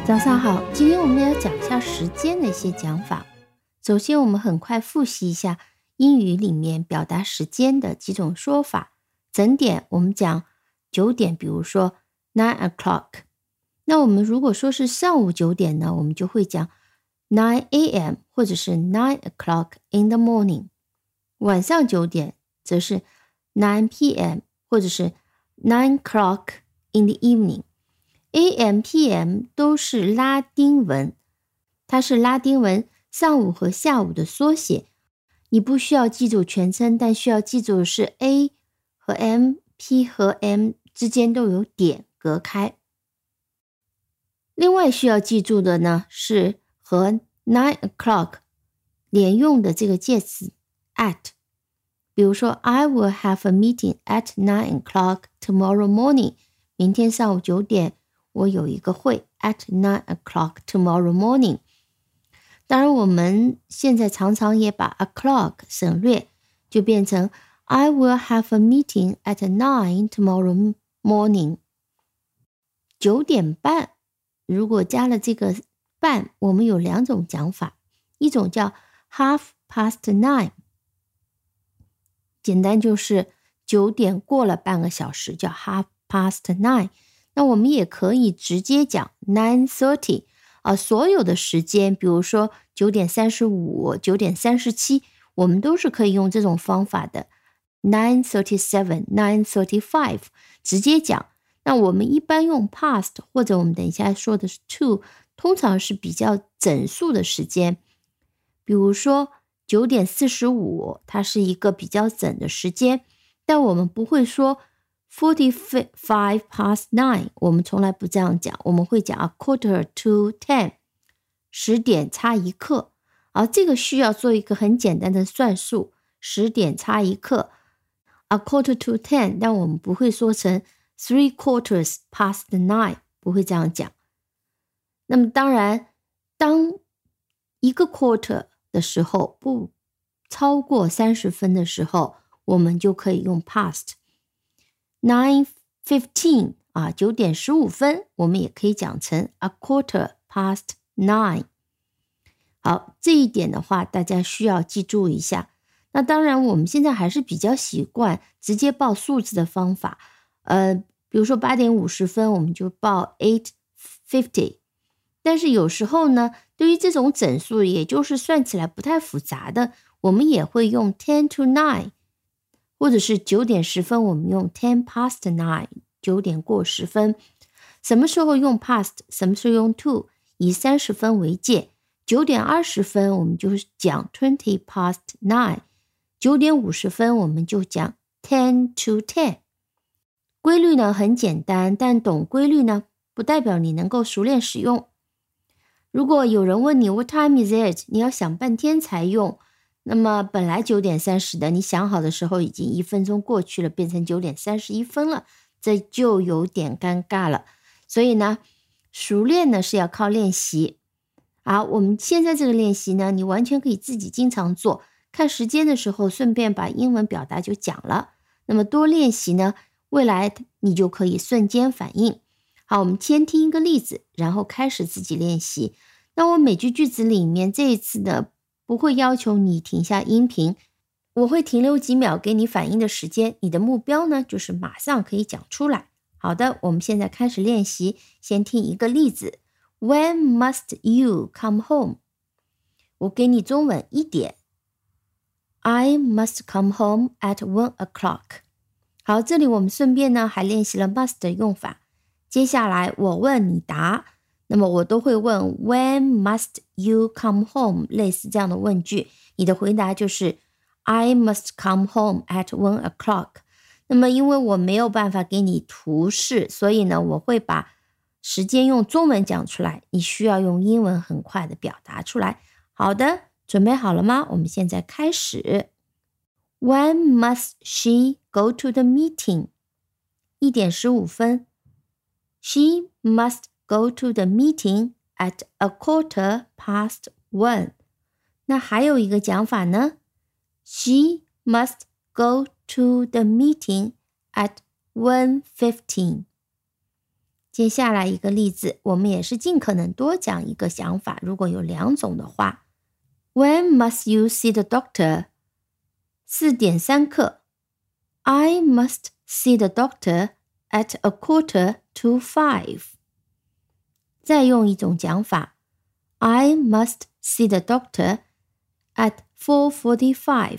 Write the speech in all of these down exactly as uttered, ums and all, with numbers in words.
早上好，今天我们要讲一下时间的一些讲法。首先我们很快复习一下英语里面表达时间的几种说法。整点我们讲九点，比如说 nine o'clock。那我们如果说是上午九点呢，我们就会讲 nine a m 或者是 nine o'clock in the morning。晚上九点则是 nine p m 或者是 nine o'clock in the evening。A M P M 都是拉丁文，它是拉丁文上午和下午的缩写。你不需要记住全称，但需要记住的是 A 和 M、P 和 M 之间都有点隔开。另外需要记住的呢，是和 nine o'clock 连用的这个介词 at。比如说 I will have a meeting at nine o'clock tomorrow morning。明天上午九点。我有一个会 at nine o'clock tomorrow morning。 当然我们现在常常也把 o'clock 省略，就变成 I will have a meeting at nine tomorrow morning。 九点半如果加了这个半，我们有两种讲法，一种叫 half past nine， 简单就是九点过了半个小时，叫 half past nine。那我们也可以直接讲 nine thirty 啊，所有的时间，比如说九点三十五、九点三十七，我们都是可以用这种方法的 nine thirty-seven、nine thirty-five 直接讲。那我们一般用 past 或者我们等一下说的是 to， 通常是比较整数的时间。比如说九点四十五，它是一个比较整的时间，但我们不会说forty-five past nine， 我们从来不这样讲，我们会讲 a quarter to ten， 十点差一刻。而这个需要做一个很简单的算术，十点差一刻 a quarter to ten， 但我们不会说成 three quarters past nine， 不会这样讲。那么当然，当一个 quarter 的时候不超过三十分的时候，我们就可以用 past。nine fifteen 啊，九点十五分，我们也可以讲成 a quarter past nine。 好，这一点的话大家需要记住一下。那当然我们现在还是比较习惯直接报数字的方法，呃，比如说八点五十分我们就报 eight fifty。 但是有时候呢，对于这种整数，也就是算起来不太复杂的，我们也会用 ten to nine，或者是九点十分，我们用 ten past nine， 九点过十分。什么时候用 past， 什么时候用 to， 以三十分为界。九点二十分我们就讲 twenty past nine， 九点五十分我们就讲 ten to ten。 规律呢很简单，但懂规律呢不代表你能够熟练使用。如果有人问你 What time is it， 你要想半天才用，那么本来九点三十的，你想好的时候已经一分钟过去了，变成九点三十一分了，这就有点尴尬了。所以呢，熟练呢是要靠练习。好，我们现在这个练习呢，你完全可以自己经常做，看时间的时候顺便把英文表达就讲了。那么多练习呢，未来你就可以瞬间反应。好，我们先听一个例子，然后开始自己练习。那我每句句子里面这一次呢，不会要求你停下音频，我会停留几秒给你反应的时间，你的目标呢就是马上可以讲出来。好的，我们现在开始练习，先听一个例子。 When must you come home？ 我给你中文一点， I must come home at one o'clock。 好，这里我们顺便呢还练习了 must 的用法。接下来我问你答，那么我都会问 When must you come home， 类似这样的问句，你的回答就是 I must come home at one o'clock。 那么因为我没有办法给你图示，所以呢我会把时间用中文讲出来，你需要用英文很快的表达出来。好的，准备好了吗？我们现在开始。 When must she go to the meeting？ 一点十五分。 She must go to the meeting at a quarter past one。 那还有一个讲法呢， She must go to the meeting at one fifteen。 接下来一个例子，我们也是尽可能多讲一个想法，如果有两种的话。When must you see the doctor? 四点三刻。I must see the doctor at a quarter to five. 再用一种讲法 I must see the doctor at four forty-five.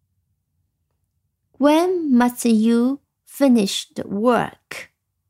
When must you finish the work?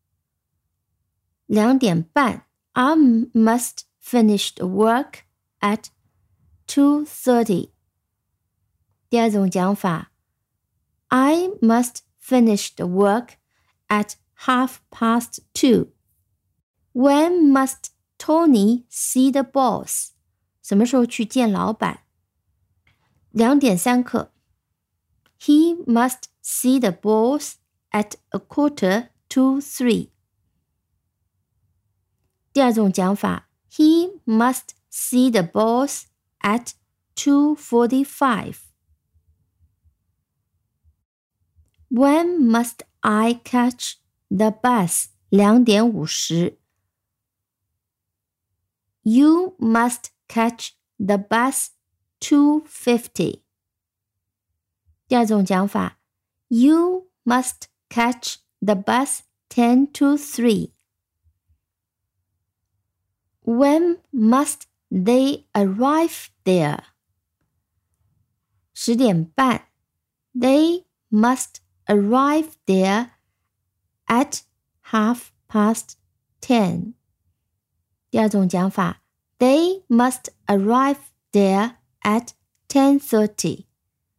两点半 I must finish the work at two thirty. 第二种讲法 I must finish the work at half past two. When must Tony see the boss? 什么时候去见老板？两点三刻 He must see the boss at a quarter to three. 第二种讲法 He must see the boss at two forty-five. When must I catch the bus? 两点五十 You must catch the bus two fifty. 第二种讲法 You must catch the bus ten to three. When must they arrive there? 十点半 They must arrive there at half past ten. 第二种讲法 They must arrive there at ten thirty.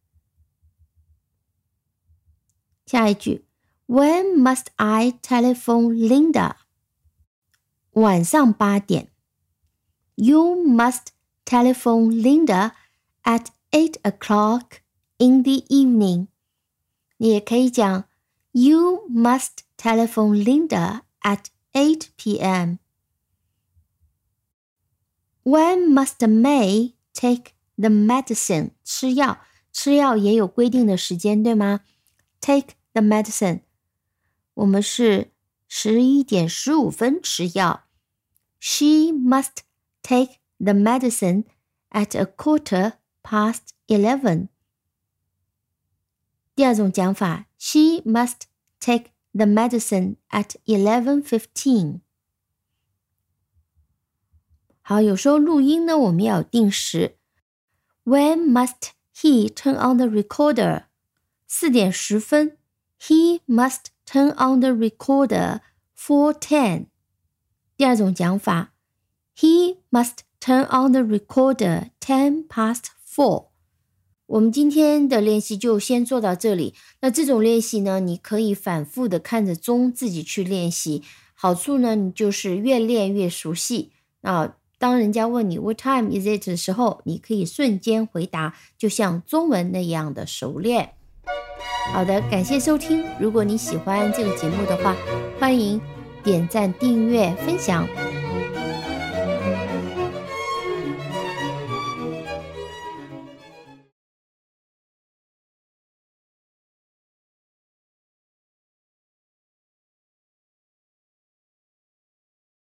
下一句 When must I telephone Linda? 晚上八点 You must telephone Linda at eight o'clock in the evening. 你也可以讲 You must telephone Linda at eight p.m. When must May take the medicine? 吃药，吃药也有规定的时间，对吗？ Take the medicine. 我们是十一点十五分吃药。She must take the medicine at a quarter past eleven. 第二种讲法 She must take the medicine at eleven fifteen. 好，有时候录音呢，我们要有定时。When must he turn on the recorder? 四点十分 He must turn on the recorder four ten. 第二种讲法 He must turn on the recorder ten past four. 我们今天的练习就先做到这里。那这种练习呢，你可以反复的看着钟自己去练习。好处呢，你就是越练越熟悉。啊，当人家问你 What time is it 的时候，你可以瞬间回答，就像中文那样的熟练。好的，感谢收听。如果你喜欢这个节目的话，欢迎点赞、订阅、分享。